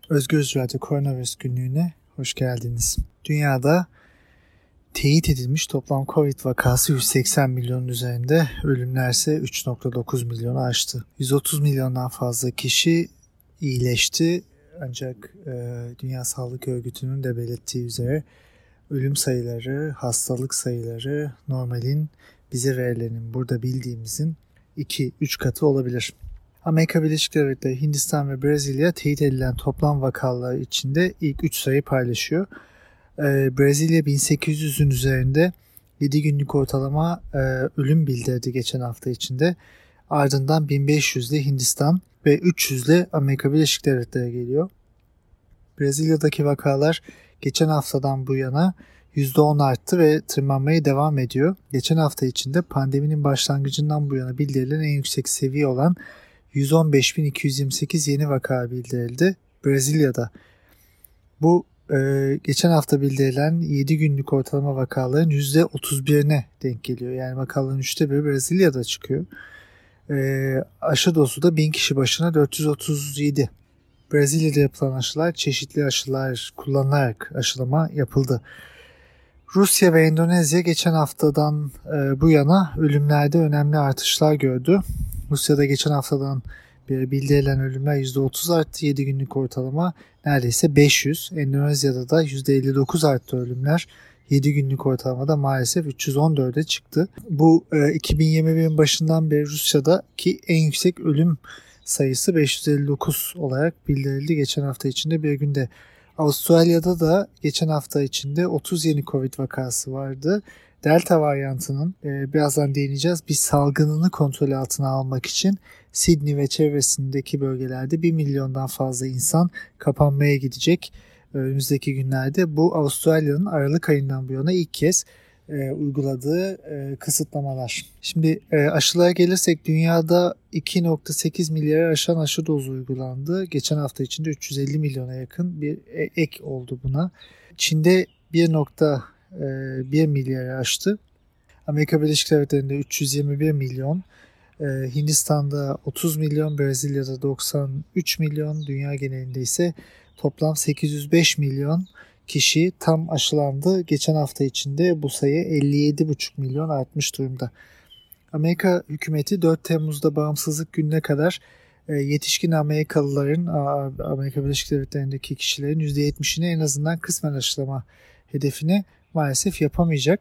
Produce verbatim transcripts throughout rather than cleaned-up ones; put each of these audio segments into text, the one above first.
Özgür Radyo Koronavirüs Günlüğü'ne hoş geldiniz. Dünyada teyit edilmiş toplam Covid vakası yüz seksen milyonun üzerinde, ölümler ise üç virgül dokuz milyonu aştı. yüz otuz milyondan fazla kişi iyileşti, ancak e, Dünya Sağlık Örgütü'nün de belirttiği üzere ölüm sayıları, hastalık sayıları normalin, bize verilenin, burada bildiğimizin iki üç katı olabilir. Amerika Birleşik Devletleri, Hindistan ve Brezilya teyit edilen toplam vakalar içinde ilk üç sayı paylaşıyor. Ee, Brezilya bin sekiz yüzün üzerinde yedi günlük ortalama e, ölüm bildirdi geçen hafta içinde. Ardından bin beş yüzle Hindistan ve üç yüzle Amerika Birleşik Devletleri geliyor. Brezilya'daki vakalar geçen haftadan bu yana yüzde on arttı ve tırmanmaya devam ediyor. Geçen hafta içinde pandeminin başlangıcından bu yana bildirilen en yüksek seviye olan yüz on beş bin iki yüz yirmi sekiz yeni vaka bildirildi Brezilya'da. Bu e, geçen hafta bildirilen yedi günlük ortalama vakaların yüzde otuz birine denk geliyor. Yani vakaların üçte biri Brezilya'da çıkıyor. E, aşı dozu da bin kişi başına dört yüz otuz yedi. Brezilya'da yapılan aşılar çeşitli aşılar kullanılarak aşılama yapıldı. Rusya ve Endonezya geçen haftadan e, bu yana ölümlerde önemli artışlar gördü. Rusya'da geçen haftadan beri bildirilen ölümler yüzde otuz arttı, yedi günlük ortalama neredeyse beş yüz. Endonezya'da da yüzde elli dokuz arttı ölümler, yedi günlük ortalamada maalesef üç yüz on dörde çıktı. Bu e, iki bin yirmi birin başından beri Rusya'daki en yüksek ölüm sayısı beş yüz elli dokuz olarak bildirildi geçen hafta içinde bir günde. Avustralya'da da geçen hafta içinde otuz yeni Covid vakası vardı. Delta varyantının e, birazdan değineceğiz, bir salgınını kontrol altına almak için Sydney ve çevresindeki bölgelerde bir milyondan fazla insan kapanmaya gidecek önümüzdeki günlerde. Bu Avustralya'nın Aralık ayından bu yana ilk kez e, uyguladığı e, kısıtlamalar. Şimdi e, aşılara gelirsek, dünyada iki virgül sekiz milyarı aşan aşı dozu uygulandı. Geçen hafta içinde üç yüz elli milyona yakın bir ek oldu buna. Çin'de bir virgül bir milyarı aştı. Amerika Birleşik Devletleri'nde üç yüz yirmi bir milyon, Hindistan'da otuz milyon, Brezilya'da doksan üç milyon, dünya genelinde ise toplam sekiz yüz beş milyon kişi tam aşılandı. Geçen hafta içinde bu sayı elli yedi buçuk milyon artmış durumda. Amerika hükümeti dört Temmuz'da bağımsızlık gününe kadar yetişkin Amerikalıların, Amerika Birleşik Devletleri'ndeki kişilerin yüzde yetmişini en azından kısmen aşılama hedefini maalesef yapamayacak.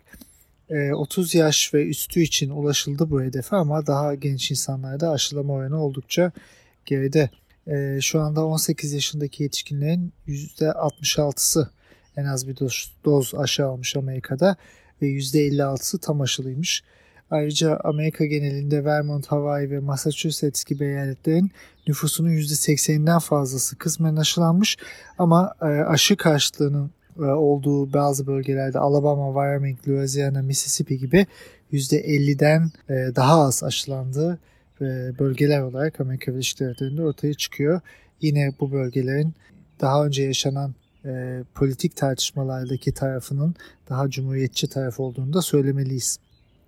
otuz yaş ve üstü için ulaşıldı bu hedefe, ama daha genç insanlarda aşılama oranı oldukça geride. Şu anda on sekiz yaşındaki yetişkinlerin yüzde altmış altısı en az bir doz, doz aşı almış Amerika'da ve yüzde elli altısı tam aşılıymış. Ayrıca Amerika genelinde Vermont, Hawaii ve Massachusetts gibi eyaletlerin nüfusunun yüzde sekseninden fazlası kısmen aşılanmış, ama aşı karşıtlığının olduğu bazı bölgelerde Alabama, Wyoming, Louisiana, Mississippi gibi yüzde elliden daha az aşılandığı bölgeler olarak Amerika Birleşik Devletleri'nde ortaya çıkıyor. Yine bu bölgelerin daha önce yaşanan e, politik tartışmalardaki tarafının daha cumhuriyetçi taraf olduğunu da söylemeliyiz.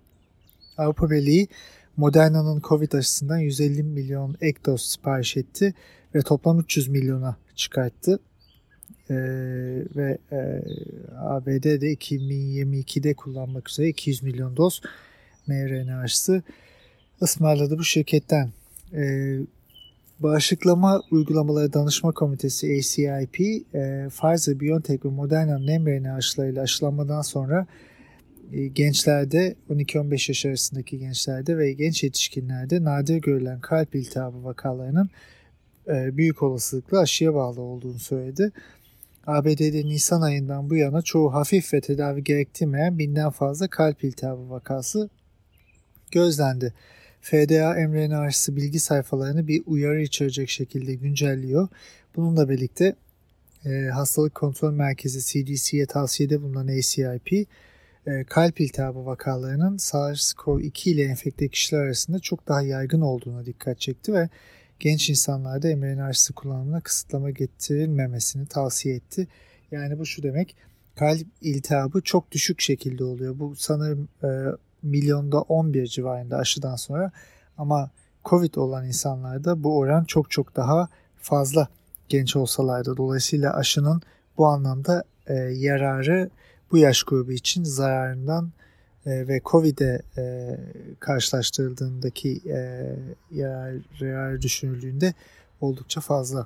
Avrupa Birliği Moderna'nın Covid aşısından yüz elli milyon ek doz sipariş etti ve toplam üç yüz milyona çıkarttı. Ee, ve e, A B D'de iki bin yirmi ikide kullanmak üzere iki yüz milyon doz mRNA aşısı ısmarladı bu şirketten. Ee, Bağışıklama Uygulamaları Danışma Komitesi A C I P, e, Pfizer, BioNTech ve Moderna'nın mRNA aşılarıyla aşılanmadan sonra e, gençlerde, on iki on beş yaş arasındaki gençlerde ve genç yetişkinlerde nadir görülen kalp iltihabı vakalarının e, büyük olasılıkla aşıya bağlı olduğunu söyledi. A B D'de Nisan ayından bu yana çoğu hafif ve tedavi gerektirmeyen binden fazla kalp iltihabı vakası gözlendi. F D A mRNA aşısı bilgi sayfalarını bir uyarı içerecek şekilde güncelliyor. Bununla birlikte e, Hastalık Kontrol Merkezi C D C'ye tavsiyede bulunan A C I P, e, kalp iltihabı vakalarının SARS-CoV iki ile enfekte kişiler arasında çok daha yaygın olduğuna dikkat çekti ve genç insanlarda mRNA aşısı kullanımına kısıtlama getirilmemesini tavsiye etti. Yani bu şu demek, kalp iltihabı çok düşük şekilde oluyor. Bu sanırım e, milyonda on bir civarında aşıdan sonra, ama Covid olan insanlarda bu oran çok çok daha fazla. genç olsalar da. Dolayısıyla aşının bu anlamda e, yararı bu yaş grubu için zararından e, ve Covid'e e, karşılaştırıldığındaki e, yarar, yarar düşünüldüğünde oldukça fazla.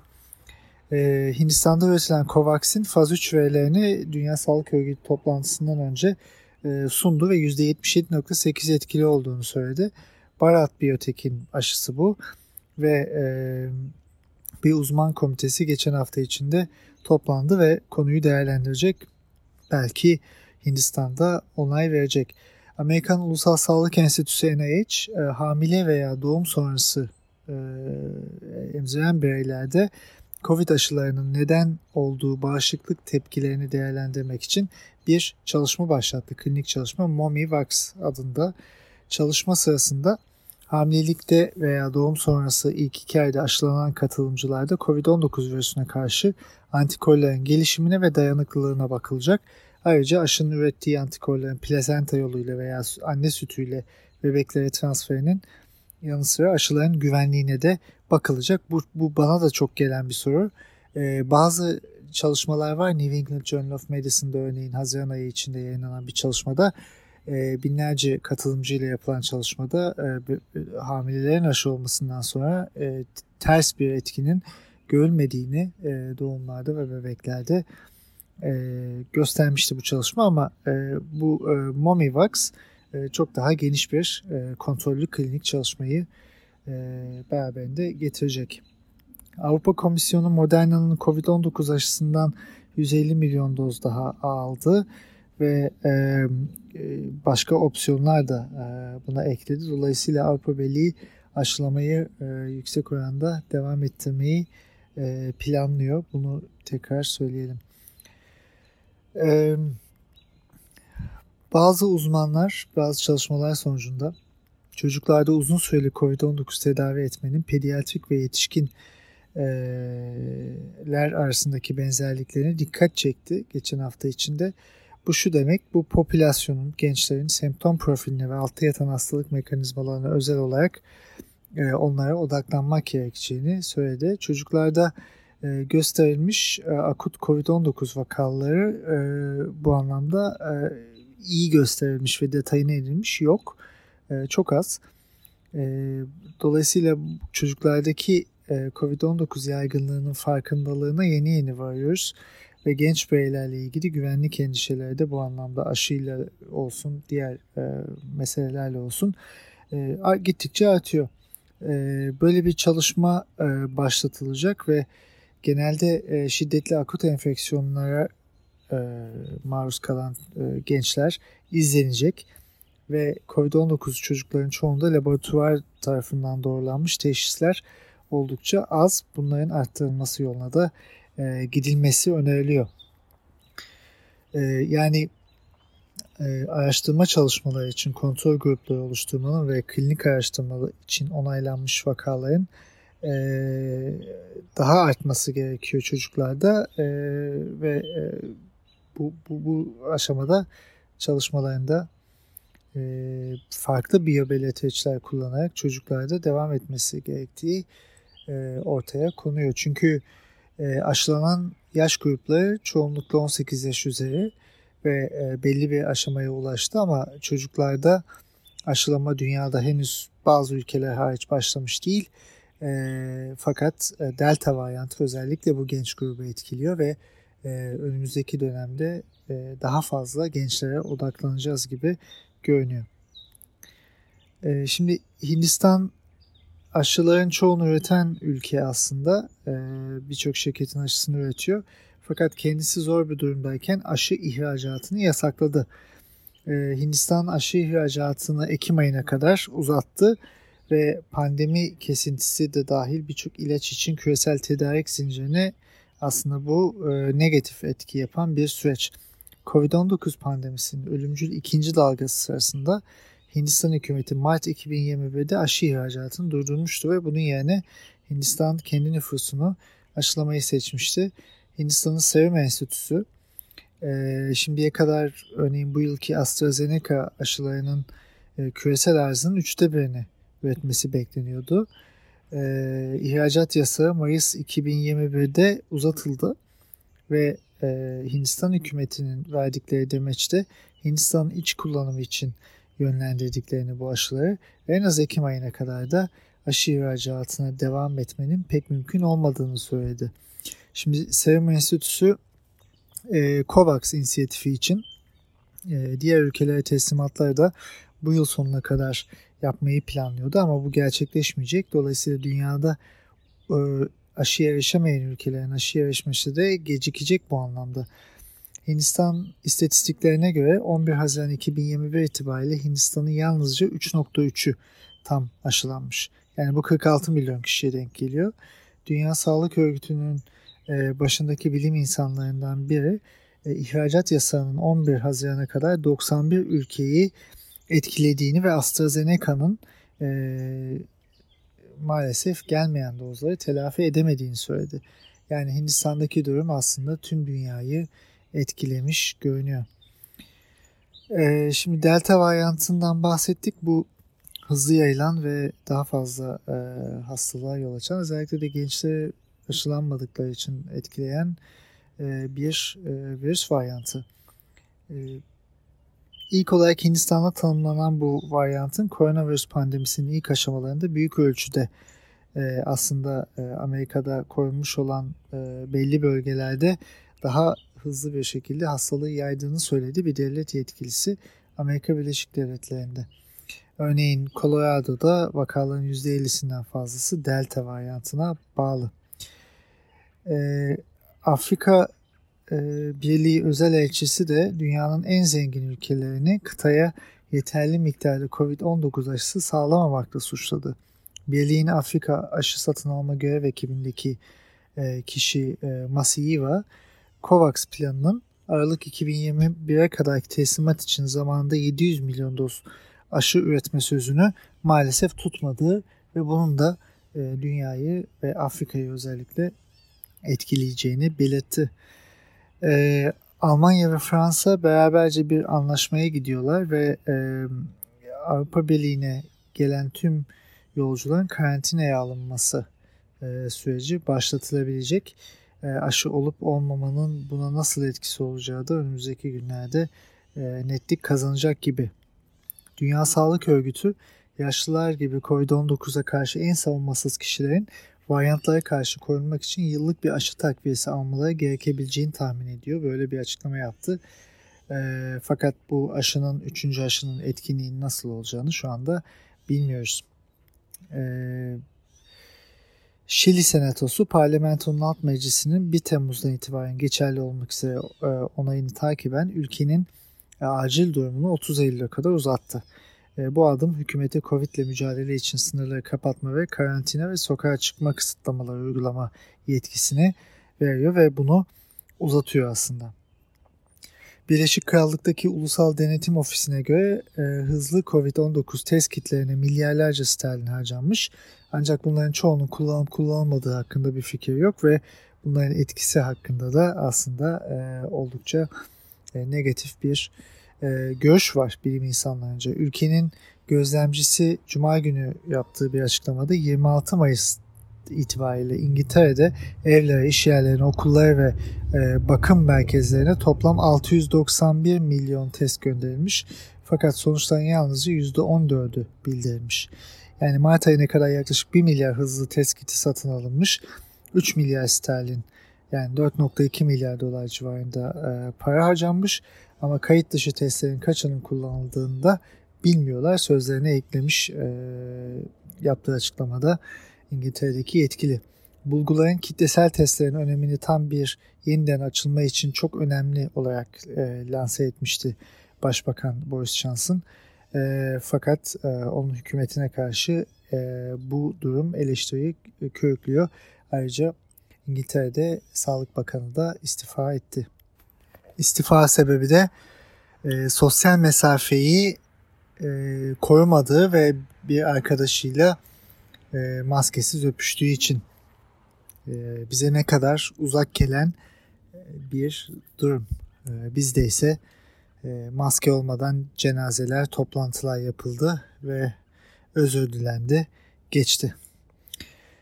E, Hindistan'da üretilen Covax'in faz üç verilerini Dünya Sağlık Örgütü toplantısından önce e, sundu ve yüzde yetmiş yedi virgül sekiz etkili olduğunu söyledi. Bharat Biotech'in aşısı bu ve e, bir uzman komitesi geçen hafta içinde toplandı ve konuyu değerlendirecek. Belki Hindistan'da onay verecek. Amerikan Ulusal Sağlık Enstitüsü N I H, e, hamile veya doğum sonrası e, emziren bireylerde Covid aşılarının neden olduğu bağışıklık tepkilerini değerlendirmek için bir çalışma başlattı. Klinik çalışma MOMI-Vax adında. Çalışma sırasında hamilelikte veya doğum sonrası ilk iki ayda aşılanan katılımcılarda kovid on dokuz virüsüne karşı antikorların gelişimine ve dayanıklılığına bakılacak. Ayrıca aşının ürettiği antikorların plasenta yoluyla veya anne sütüyle bebeklere transferinin yanı sıra aşıların güvenliğine de bakılacak. Bu, bu bana da çok gelen bir soru. Ee, bazı çalışmalar var. New England Journal of Medicine'da örneğin Haziran ayı içinde yayınlanan bir çalışmada e, binlerce katılımcıyla yapılan çalışmada e, hamilelerin aşı olmasından sonra e, ters bir etkinin görülmediğini e, doğumlarda ve bebeklerde e, göstermişti bu çalışma ama e, bu e, MOMI-Vax e, çok daha geniş bir e, kontrollü klinik çalışmayı e, beraberinde getirecek. Avrupa Komisyonu Moderna'nın kovid on dokuz aşısından yüz elli milyon doz daha aldı ve e, başka opsiyonlar da e, buna ekledi. Dolayısıyla Avrupa Birliği aşılamayı e, yüksek oranda devam ettirmeyi e, planlıyor. Bunu tekrar söyleyelim. E, bazı uzmanlar, bazı çalışmalar sonucunda çocuklarda uzun süreli kovid on dokuz tedavi etmenin pediatrik ve yetişkin ler arasındaki benzerliklerine dikkat çekti geçen hafta içinde. Bu şu demek, bu popülasyonun, gençlerin semptom profiline ve altta yatan hastalık mekanizmalarına özel olarak e, onlara odaklanmak gerekeceğini söyledi. Çocuklarda e, gösterilmiş e, akut kovid on dokuz vakaları e, bu anlamda e, iyi gösterilmiş ve detayına edilmiş yok. E, çok az. E, dolayısıyla çocuklardaki kovid on dokuz yaygınlığının farkındalığına yeni yeni varıyoruz ve genç bireylerle ilgili güvenlik endişeleri de bu anlamda aşıyla olsun, diğer e, meselelerle olsun e, gittikçe artıyor. E, böyle bir çalışma e, başlatılacak ve genelde e, şiddetli akut enfeksiyonlara e, maruz kalan e, gençler izlenecek ve kovid on dokuz çocukların çoğunda laboratuvar tarafından doğrulanmış teşhisler oldukça az. Bunların arttırılması yoluna da e, gidilmesi öneriliyor. E, yani e, araştırma çalışmaları için kontrol grupları oluşturmanın ve klinik araştırmalar için onaylanmış vakaların e, daha artması gerekiyor çocuklarda e, ve e, bu, bu, bu aşamada çalışmalarında e, farklı biyobelirteçler kullanarak çocuklarda devam etmesi gerektiği ortaya konuyor. Çünkü aşılanan yaş grupları çoğunlukla on sekiz yaş üzeri ve belli bir aşamaya ulaştı ama çocuklarda aşılama dünyada henüz bazı ülkeler hariç başlamış değil. Fakat delta varyantı özellikle bu genç grubu etkiliyor ve önümüzdeki dönemde daha fazla gençlere odaklanacağız gibi görünüyor. Şimdi Hindistan aşıların çoğunu üreten ülke aslında. Ee, birçok şirketin aşısını üretiyor. Fakat kendisi zor bir durumdayken aşı ihracatını yasakladı. Ee, Hindistan aşı ihracatını Ekim ayına kadar uzattı ve pandemi kesintisi de dahil birçok ilaç için küresel tedarik zincirine aslında bu e, negatif etki yapan bir süreç. kovid on dokuz pandemisinin ölümcül ikinci dalgası sırasında Hindistan hükümeti Mart iki bin yirmi birde aşı ihracatını durdurmuştu ve bunun yerine Hindistan kendi nüfusunu aşılamayı seçmişti. Hindistan'ın Serum Enstitüsü e, şimdiye kadar örneğin bu yılki AstraZeneca aşılarının e, küresel arzının üçte birini üretmesi bekleniyordu. e, ihracat yasağı Mayıs iki bin yirmi birde uzatıldı ve e, Hindistan hükümetinin verdikleri demeçte Hindistan'ın iç kullanımı için yönlendirdiklerini bu aşıları en az Ekim ayına kadar da aşı ihracatına devam etmenin pek mümkün olmadığını söyledi. Şimdi Serum Enstitüsü e, COVAX inisiyatifi için e, diğer ülkelere teslimatları da bu yıl sonuna kadar yapmayı planlıyordu ama bu gerçekleşmeyecek. Dolayısıyla dünyada e, aşıya erişemeyen ülkelerin aşıya erişmesi de gecikecek bu anlamda. Hindistan istatistiklerine göre on bir Haziran iki bin yirmi bir itibariyle Hindistan'ın yalnızca üç nokta üçü tam aşılanmış. Yani bu kırk altı milyon kişiye denk geliyor. Dünya Sağlık Örgütü'nün başındaki bilim insanlarından biri ihracat yasağının on bir Haziran'a kadar doksan bir ülkeyi etkilediğini ve AstraZeneca'nın e, maalesef gelmeyen dozları telafi edemediğini söyledi. Yani Hindistan'daki durum aslında tüm dünyayı etkilemiş görünüyor. E, şimdi Delta varyantından bahsettik. Bu hızlı yayılan ve daha fazla e, hastalığa yol açan, özellikle de gençleri aşılanmadıkları için etkileyen e, bir e, virüs varyantı. E, ilk olarak Hindistan'da tanımlanan bu varyantın koronavirüs pandemisinin ilk aşamalarında büyük ölçüde e, aslında e, Amerika'da korunmuş olan e, belli bölgelerde daha hızlı bir şekilde hastalığı yaydığını söyledi bir devlet yetkilisi Amerika Birleşik Devletleri'nde. Örneğin Colorado'da vakaların yüzde ellisinden fazlası Delta varyantına bağlı. Ee, Afrika e, Birliği özel elçisi de dünyanın en zengin ülkelerini kıtaya yeterli miktarda kovid on dokuz aşısı sağlamamakla suçladı. Birliğin Afrika aşı satın alma görev ekibindeki e, kişi e, Masiyiwa, COVAX planının Aralık iki bin yirmi bire kadarki teslimat için zamanında yedi yüz milyon doz aşı üretme sözünü maalesef tutmadığı ve bunun da e, dünyayı ve Afrika'yı özellikle etkileyeceğini belirtti. E, Almanya ve Fransa beraberce bir anlaşmaya gidiyorlar ve e, Avrupa Birliği'ne gelen tüm yolcuların karantinaya alınması e, süreci başlatılabilecek. E, aşı olup olmamanın buna nasıl etkisi olacağı da önümüzdeki günlerde e, netlik kazanacak gibi. Dünya Sağlık Örgütü yaşlılar gibi kovid on dokuza karşı en savunmasız kişilerin varyantlara karşı korunmak için yıllık bir aşı takviyesi almaları gerekebileceğini tahmin ediyor. Böyle bir açıklama yaptı. E, fakat bu aşının, üçüncü aşının etkinliğinin nasıl olacağını şu anda bilmiyoruz. E, Şili Senatosu Parlamentonun Alt Meclisi'nin bir Temmuz'dan itibaren geçerli olmak üzere e, onayını takiben ülkenin e, acil durumunu otuz Eylül'e kadar uzattı. E, bu adım hükümete Covid ile mücadele için sınırları kapatma ve karantina ve sokağa çıkma kısıtlamaları uygulama yetkisini veriyor ve bunu uzatıyor aslında. Birleşik Krallık'taki Ulusal Denetim Ofisi'ne göre e, hızlı kovid on dokuz test kitlerine milyarlarca sterlin harcanmış. Ancak bunların çoğunun kullanılıp kullanılmadığı hakkında bir fikir yok ve bunların etkisi hakkında da aslında e, oldukça e, negatif bir e, görüş var bilim insanlarınca. Ülkenin gözlemcisi Cuma günü yaptığı bir açıklamada yirmi altı Mayıs itibariyle İngiltere'de evlere, iş yerlerine, okullara ve e, bakım merkezlerine toplam altı yüz doksan bir milyon test gönderilmiş. Fakat sonuçların yalnızca yüzde on dördü bildirilmiş. Yani Mart ayına kadar yaklaşık bir milyar hızlı test kiti satın alınmış. üç milyar sterlin, yani dört nokta iki milyar dolar civarında e, para harcanmış. Ama kayıt dışı testlerin kaçının kullanıldığını da bilmiyorlar. Sözlerine eklemiş e, yaptığı açıklamada İngiltere'deki yetkili. Bulguların kitlesel testlerin önemini tam bir yeniden açılma için çok önemli olarak e, lanse etmişti Başbakan Boris Johnson. E, fakat e, onun hükümetine karşı e, bu durum eleştiriyi körüklüyor. Ayrıca İngiltere'de Sağlık Bakanı da istifa etti. İstifa sebebi de e, sosyal mesafeyi e, korumadığı ve bir arkadaşıyla e, maskesiz öpüştüğü için e, bize ne kadar uzak gelen e, bir durum. E, bizde ise e, maske olmadan cenazeler, toplantılar yapıldı ve özür dilendi, geçti.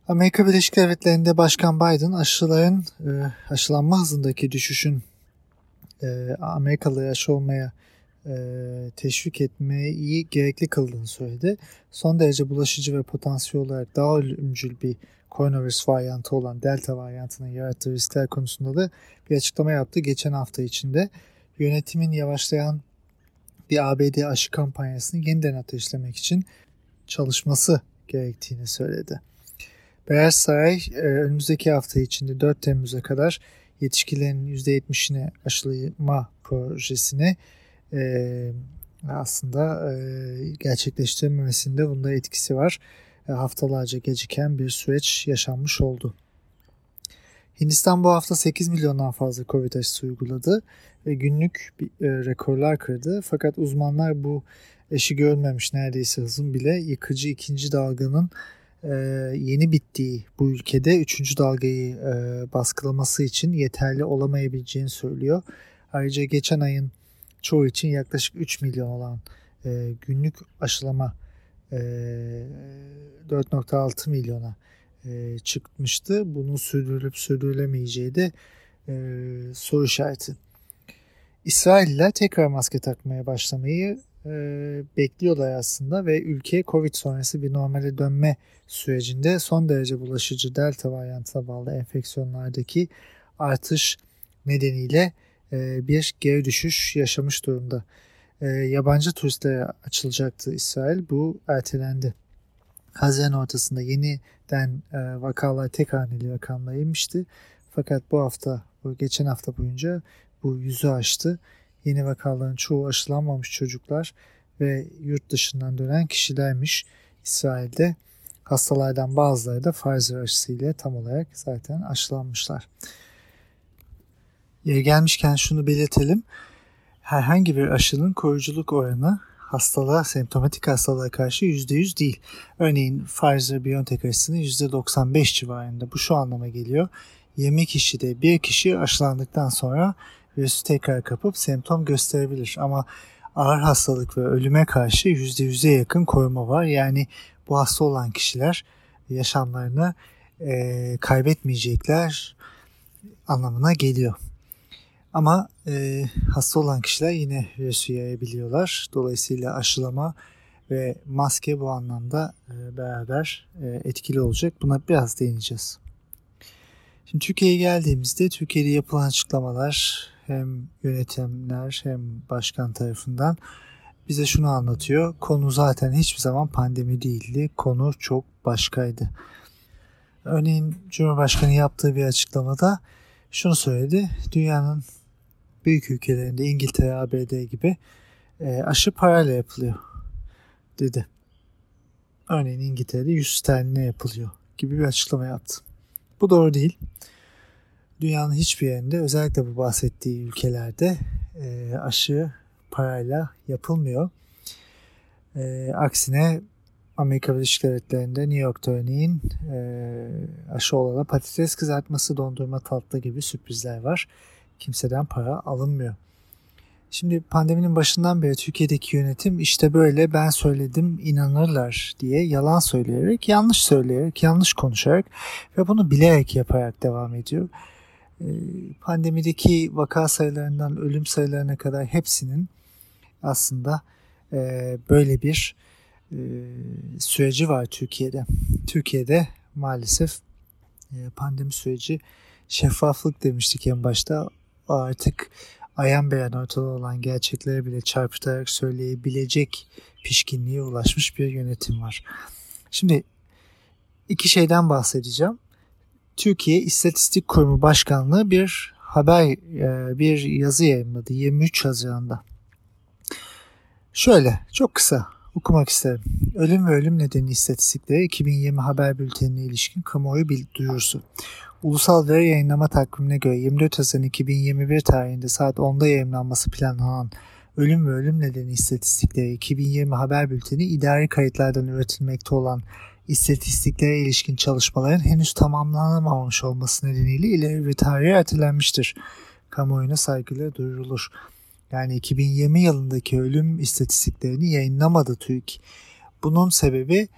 Amerika Birleşik Devletleri'nde Başkan Biden aşıların e, aşılanma hızındaki düşüşün e, Amerikalıları aşı olmaya e, teşvik etmeyi gerekli kıldığını söyledi. Son derece bulaşıcı ve potansiyel olarak daha ölümcül bir koronavirüs varyantı olan Delta varyantının yarattığı riskler konusunda da bir açıklama yaptı. Geçen hafta içinde yönetimin yavaşlayan bir A B D aşı kampanyasını yeniden ateşlemek için çalışması gerektiğini söyledi. Beyaz Saray önümüzdeki hafta içinde dört Temmuz'a kadar yetişkinlerin yüzde yetmişini aşılama projesini e, aslında e, gerçekleştirmemesinde bunda etkisi var. E, haftalarca geciken bir süreç yaşanmış oldu. Hindistan bu hafta sekiz milyondan fazla Covid aşısı uyguladı ve günlük bir, e, rekorlar kırdı. Fakat uzmanlar bu eşi görülmemiş neredeyse hızın bile yıkıcı ikinci dalganın e, yeni bittiği bu ülkede üçüncü dalgayı e, baskılaması için yeterli olamayabileceğini söylüyor. Ayrıca geçen ayın çoğu için yaklaşık üç milyon olan e, günlük aşılama e, dört virgül altı milyona e, çıkmıştı. Bunun sürdürülüp sürdürülemeyeceği de e, soru işareti. İsrailliler tekrar maske takmaya başlamayı e, bekliyorlar aslında ve ülke Covid sonrası bir normale dönme sürecinde son derece bulaşıcı Delta varyantına bağlı enfeksiyonlardaki artış nedeniyle e, bir geri düşüş yaşamış durumda. E, yabancı turistlere açılacaktı İsrail. Bu ertelendi. Haziran ortasında yeniden e, vakalar tek haneli rakamlara inmişti. Fakat bu hafta, bu geçen hafta boyunca bu yüzü aştı. Yeni vakaların çoğu aşılanmamış çocuklar ve yurt dışından dönen kişilermiş İsrail'de. Hastalardan bazıları da Pfizer aşısıyla tam olarak zaten aşılanmışlar. Yeri gelmişken şunu belirtelim. Herhangi bir aşının koruyuculuk oranı hastalığa, semptomatik hastalığa karşı yüzde yüz değil. Örneğin Pfizer-BioNTech aşısının yüzde doksan beş civarında. Bu şu anlama geliyor. yirmi kişide bir kişi aşılandıktan sonra virüsü tekrar kapıp semptom gösterebilir. Ama ağır hastalık ve ölüme karşı yüzde yüze yakın koruma var. Yani bu hasta olan kişiler yaşamlarını e, kaybetmeyecekler anlamına geliyor. Ama e, hasta olan kişiler yine virüsü yayabiliyorlar. Dolayısıyla aşılama ve maske bu anlamda e, beraber e, etkili olacak. Buna biraz değineceğiz. Şimdi Türkiye'ye geldiğimizde Türkiye'de yapılan açıklamalar hem yönetimler hem başkan tarafından bize şunu anlatıyor. Konu zaten hiçbir zaman pandemi değildi. Konu çok başkaydı. Örneğin Cumhurbaşkanı yaptığı bir açıklamada şunu söyledi. Dünyanın büyük ülkelerinde İngiltere, A B D gibi e, aşı parayla yapılıyor dedi. Örneğin İngiltere'de yüz sterline yapılıyor gibi bir açıklama yaptı. Bu doğru değil. Dünyanın hiçbir yerinde özellikle bu bahsettiği ülkelerde e, aşı parayla yapılmıyor. E, aksine Amerika Birleşik Devletleri'nde New York'ta örneğin e, aşı olana patates kızartması, dondurma, tatlı gibi sürprizler var. Kimseden para alınmıyor. Şimdi pandeminin başından beri Türkiye'deki yönetim işte böyle ben söyledim inanırlar diye yalan söyleyerek, yanlış söyleyerek, yanlış konuşarak ve bunu bilerek yaparak devam ediyor. E, pandemideki vaka sayılarından ölüm sayılarına kadar hepsinin aslında e, böyle bir e, süreci var Türkiye'de. Türkiye'de maalesef e, pandemi süreci şeffaflık demiştik en başta. Artık ayan beyan ortada olan gerçekleri bile çarpıtarak söyleyebilecek pişkinliğe ulaşmış bir yönetim var. Şimdi iki şeyden bahsedeceğim. Türkiye İstatistik Kurumu Başkanlığı bir haber, bir yazı yayınladı yirmi üç Haziran'da. Şöyle, çok kısa okumak isterim. Ölüm ve ölüm nedeni istatistikleri iki bin yirmi haber bültenine ilişkin kamuoyu duyurusu. Ulusal Veri Yayınlama Takvimine göre yirmi dört Haziran iki bin yirmi bir tarihinde saat onda yayınlanması planlanan ölüm ve ölüm nedeni istatistikleri iki bin yirmi haber bülteni idari kayıtlardan üretilmekte olan istatistiklere ilişkin çalışmaların henüz tamamlanamamış olması nedeniyle ileri bir tarihe ertelenmiştir. Kamuoyuna saygıyla duyurulur. Yani iki bin yirmi yılındaki ölüm istatistiklerini yayınlamadı TÜİK. Bunun sebebi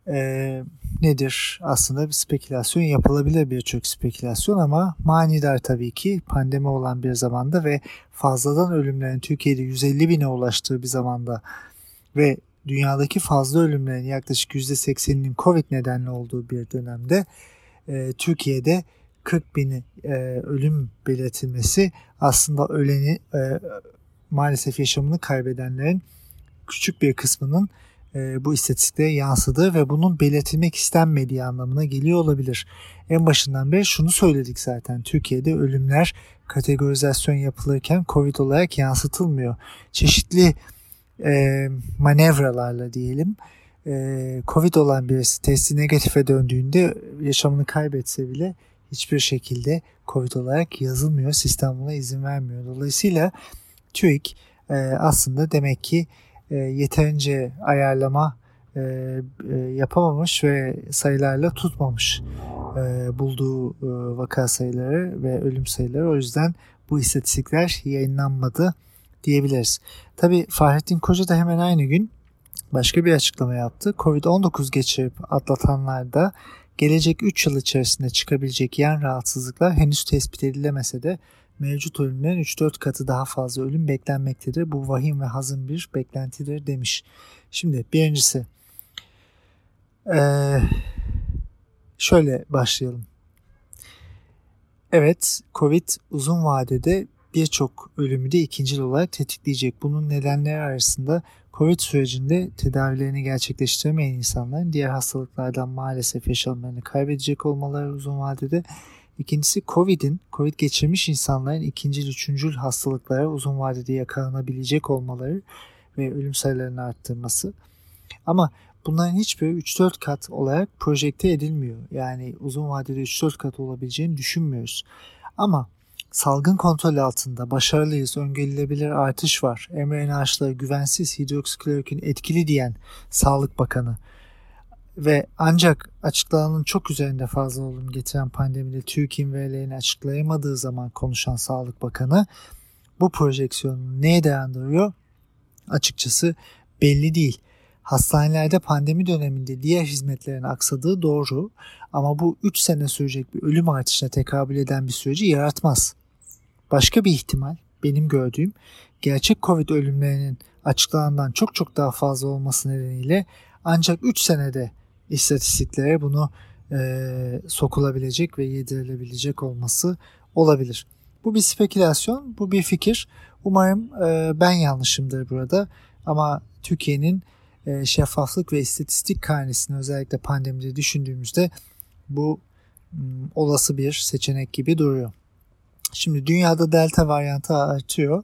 e, nedir? Aslında bir spekülasyon yapılabilir, birçok spekülasyon, ama manidar tabii ki pandemi olan bir zamanda ve fazladan ölümlerin Türkiye'de yüz elli bine ulaştığı bir zamanda ve dünyadaki fazla ölümlerin yaklaşık yüzde sekseninin Covid nedenli olduğu bir dönemde e, Türkiye'de kırk bin e, ölüm belirtilmesi aslında öleni e, maalesef yaşamını kaybedenlerin küçük bir kısmının e, bu istatistiklere yansıdığı ve bunun belirtilmek istenmediği anlamına geliyor olabilir. En başından beri şunu söyledik zaten: Türkiye'de ölümler kategorizasyon yapılırken Covid olarak yansıtılmıyor. Çeşitli e, manevralarla diyelim e, Covid olan birisi testi negatife döndüğünde yaşamını kaybetse bile hiçbir şekilde Covid olarak yazılmıyor. Sistem buna izin vermiyor. Dolayısıyla TÜİK e, aslında demek ki e, yeterince ayarlama e, e, yapamamış ve sayılarla tutmamış e, bulduğu e, vaka sayıları ve ölüm sayıları. O yüzden bu istatistikler yayınlanmadı diyebiliriz. Tabii Fahrettin Koca da hemen aynı gün başka bir açıklama yaptı. Covid on dokuz geçirip atlatanlarda gelecek üç yıl içerisinde çıkabilecek yan rahatsızlıklar henüz tespit edilemese de mevcut ölümlerin üç dört katı daha fazla ölüm beklenmektedir. Bu vahim ve hazin bir beklentidir demiş. Şimdi birincisi ee, şöyle başlayalım. Evet, Covid uzun vadede birçok ölümü de ikincil olarak tetikleyecek. Bunun nedenleri arasında Covid sürecinde tedavilerini gerçekleştiremeyen insanların diğer hastalıklardan maalesef yaşamlarını kaybedecek olmaları uzun vadede. İkincisi Covid'in, Covid geçirmiş insanların ikincil, üçüncül hastalıklara uzun vadede yakalanabilecek olmaları ve ölüm sayılarını arttırması. Ama bunların hiçbiri üç dört kat olarak projekte edilmiyor. Yani uzun vadede üç dört kat olabileceğini düşünmüyoruz. Ama salgın kontrol altında başarılıyız, öngörülebilir artış var, mRNA aşıları güvensiz, hidroksiklorokin etkili diyen Sağlık Bakanı ve ancak açıklananın çok üzerinde fazla ölüm getiren pandemide TÜİK'in verilerini açıklayamadığı zaman konuşan Sağlık Bakanı bu projeksiyonu neye dayandırıyor? Açıkçası belli değil. Hastanelerde pandemi döneminde diğer hizmetlerin aksadığı doğru, ama bu üç sene sürecek bir ölüm artışına tekabül eden bir süreci yaratmaz. Başka bir ihtimal benim gördüğüm, gerçek Covid ölümlerinin açıklanandan çok çok daha fazla olması nedeniyle ancak üç senede istatistiklere bunu e, sokulabilecek ve yedirilebilecek olması olabilir. Bu bir spekülasyon, bu bir fikir. Umarım e, ben yanlışımdır burada, ama Türkiye'nin e, şeffaflık ve istatistik karnesini özellikle pandemide düşündüğümüzde bu m, olası bir seçenek gibi duruyor. Şimdi dünyada delta varyantı artıyor.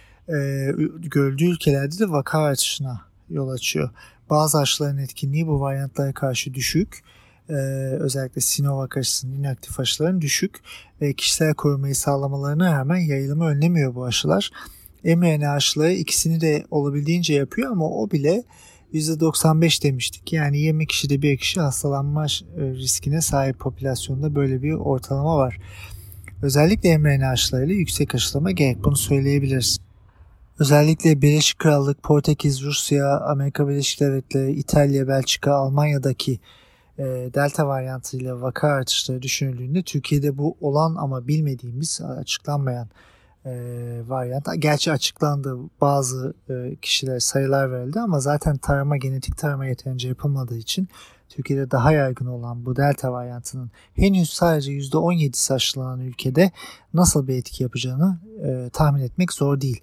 Ee, görüldüğü ülkelerde de vaka artışına yol açıyor. Bazı aşıların etkinliği bu varyantlara karşı düşük. Ee, özellikle Sinovac aşısının, inaktif aşıların düşük. Ve kişisel korumayı sağlamalarına rağmen yayılımı önlemiyor bu aşılar. mRNA aşıları ikisini de olabildiğince yapıyor, ama o bile yüzde doksan beş demiştik. Yani yirmi kişide bir kişi hastalanma riskine sahip popülasyonda böyle bir ortalama var. Özellikle mRNA aşılarıyla yüksek aşılama gerek, bunu söyleyebiliriz. Özellikle Birleşik Krallık, Portekiz, Rusya, Amerika Birleşik Devletleri, İtalya, Belçika, Almanya'daki e, delta varyantıyla vaka artışları düşünüldüğünde Türkiye'de bu olan ama bilmediğimiz, açıklanmayan e, varyant. Gerçi açıklandı, bazı e, kişiler sayılar verildi, ama zaten tarama, genetik tarama yeterince yapılmadığı için Türkiye'de daha yaygın olan bu delta varyantının henüz sadece yüzde on yedisi aşılanan ülkede nasıl bir etki yapacağını e, tahmin etmek zor değil.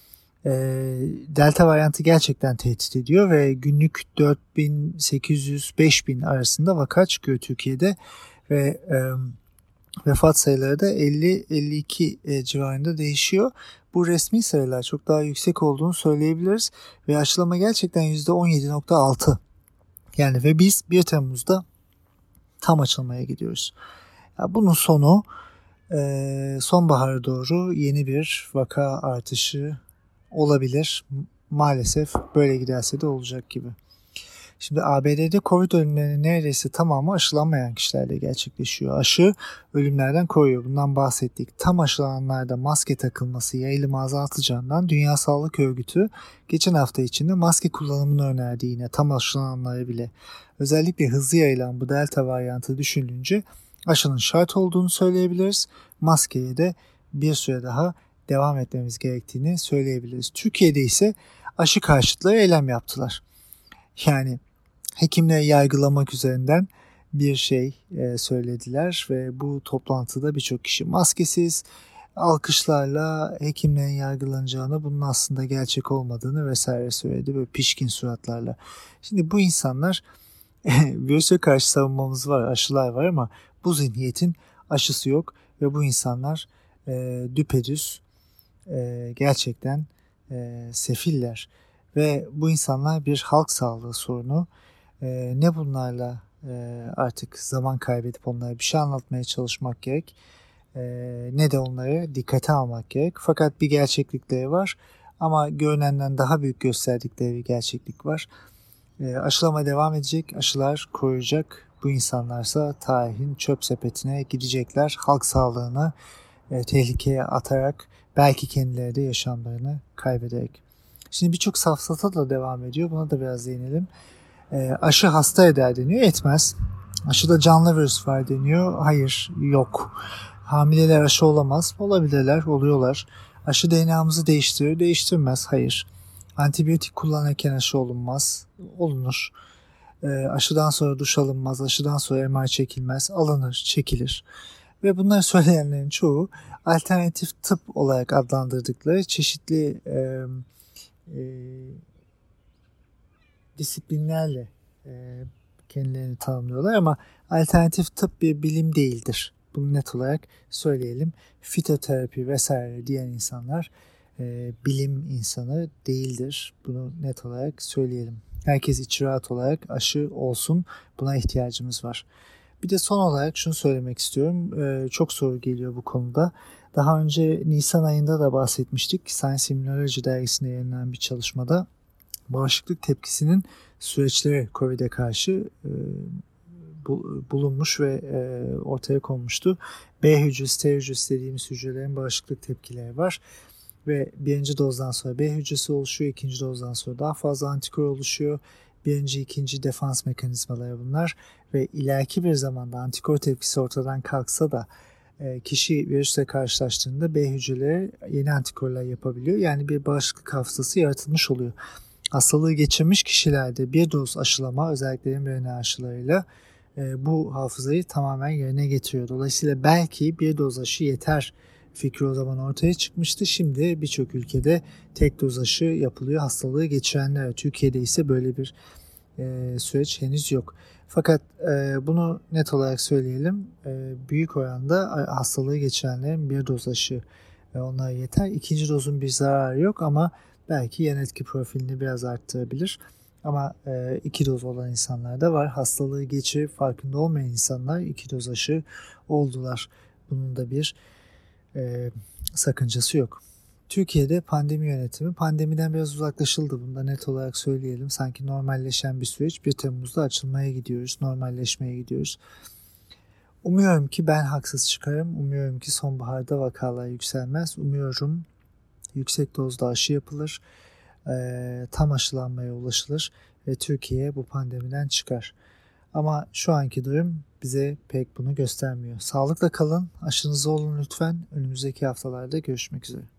E, delta varyantı gerçekten tehdit ediyor ve günlük dört bin sekiz yüz beş bin arasında vaka çıkıyor Türkiye'de ve e, vefat sayıları da elli elli iki e, civarında değişiyor. Bu resmi sayılar çok daha yüksek olduğunu söyleyebiliriz ve aşılama gerçekten yüzde on yedi nokta altı. Yani ve biz bir Temmuz'da tam açılmaya gidiyoruz. Ya bunun sonu e, sonbahara doğru yeni bir vaka artışı olabilir. Maalesef böyle giderse de olacak gibi. Şimdi A B D'de Covid ölümlerinin neredeyse tamamı aşılanmayan kişilerle gerçekleşiyor. Aşı ölümlerden koruyor. Bundan bahsettik. Tam aşılananlarda maske takılması yayılımı azaltacağından Dünya Sağlık Örgütü geçen hafta içinde maske kullanımını önerdi yine tam aşılananlara bile. Özellikle hızlı yayılan bu delta varyantı düşünülünce aşının şart olduğunu söyleyebiliriz. Maskeye de bir süre daha devam etmemiz gerektiğini söyleyebiliriz. Türkiye'de ise aşı karşıtları eylem yaptılar. Yani hekimleri yargılamak üzerinden bir şey e, söylediler ve bu toplantıda birçok kişi maskesiz alkışlarla hekimlerin yargılanacağını, bunun aslında gerçek olmadığını vesaire söyledi böyle pişkin suratlarla. Şimdi bu insanlar virüse karşı savunmamız var, aşılar var ama bu zihniyetin aşısı yok ve bu insanlar e, düpedüz e, gerçekten e, sefiller ve bu insanlar bir halk sağlığı sorunu. E, ne bunlarla e, artık zaman kaybedip onlara bir şey anlatmaya çalışmak gerek e, ne de onları dikkate almak gerek. Fakat bir gerçeklikleri var ama görünenden daha büyük gösterdikleri bir gerçeklik var. E, aşılama devam edecek, aşılar koruyacak. Bu insanlarsa tarihin çöp sepetine gidecekler. Halk sağlığını e, tehlikeye atarak belki kendileri de yaşamlarını kaybederek. Şimdi birçok safsata da devam ediyor. Buna da biraz değinelim. E, aşı hasta eder deniyor. Etmez. Aşıda canlı virüs var deniyor. Hayır, yok. Hamileler aşı olamaz. Olabilirler, oluyorlar. Aşı D N A'mızı değiştirir, değiştirmez. Hayır. Antibiyotik kullanırken aşı olunmaz. Olunur. E, aşıdan sonra duş alınmaz. Aşıdan sonra M R çekilmez. Alınır, çekilir. Ve bunları söyleyenlerin çoğu alternatif tıp olarak adlandırdıkları çeşitli e, e, disiplinlerle e, kendilerini tanımlıyorlar ama alternatif tıp bir bilim değildir. Bunu net olarak söyleyelim. Fitoterapi vesaire diyen insanlar e, bilim insanı değildir. Bunu net olarak söyleyelim. Herkes içi rahat olarak aşı olsun. Buna ihtiyacımız var. Bir de son olarak şunu söylemek istiyorum. Ee, çok soru geliyor bu konuda. Daha önce Nisan ayında da bahsetmiştik. Science Immunology dergisinde yayınlanan bir çalışmada bağışıklık tepkisinin süreçleri Covid'e karşı e, bu, bulunmuş ve e, ortaya konmuştu. B hücresi, T hücresi dediğimiz hücrelerin bağışıklık tepkileri var. Ve birinci dozdan sonra B hücresi oluşuyor. İkinci dozdan sonra daha fazla antikor oluşuyor. Birinci, ikinci defans mekanizmaları bunlar ve ileriki bir zamanda antikor tepkisi ortadan kalksa da e, kişi virüsle karşılaştığında B hücreleri yeni antikorlar yapabiliyor. Yani bir bağışıklık hafızası yaratılmış oluyor. Hastalığı geçirmiş kişilerde bir doz aşılama, özellikle mRNA aşılarıyla e, bu hafızayı tamamen yerine getiriyor. Dolayısıyla belki bir doz aşı yeter fikri o zaman ortaya çıkmıştı. Şimdi birçok ülkede tek doz aşı yapılıyor hastalığı geçirenler. Türkiye'de ise böyle bir e, süreç henüz yok. Fakat e, bunu net olarak söyleyelim. E, büyük oranda hastalığı geçirenlerin bir doz aşı e, onlara yeter. İkinci dozun bir zararı yok ama belki yan etki profilini biraz arttırabilir. Ama e, iki doz olan insanlar da var. Hastalığı geçirip farkında olmayan insanlar iki doz aşı oldular. Bunun da bir e, sakıncası yok. Türkiye'de pandemi yönetimi pandemiden biraz uzaklaşıldı. Bunu da net olarak söyleyelim. Sanki normalleşen bir süreç. bir Temmuz'da açılmaya gidiyoruz. Normalleşmeye gidiyoruz. Umuyorum ki ben haksız çıkarım. Umuyorum ki sonbaharda vakalar yükselmez. Umuyorum yüksek dozda aşı yapılır. E, tam aşılanmaya ulaşılır. Ve Türkiye bu pandemiden çıkar. Ama şu anki durum bize pek bunu göstermiyor. Sağlıkla kalın, aşınızı olun lütfen. Önümüzdeki haftalarda görüşmek üzere.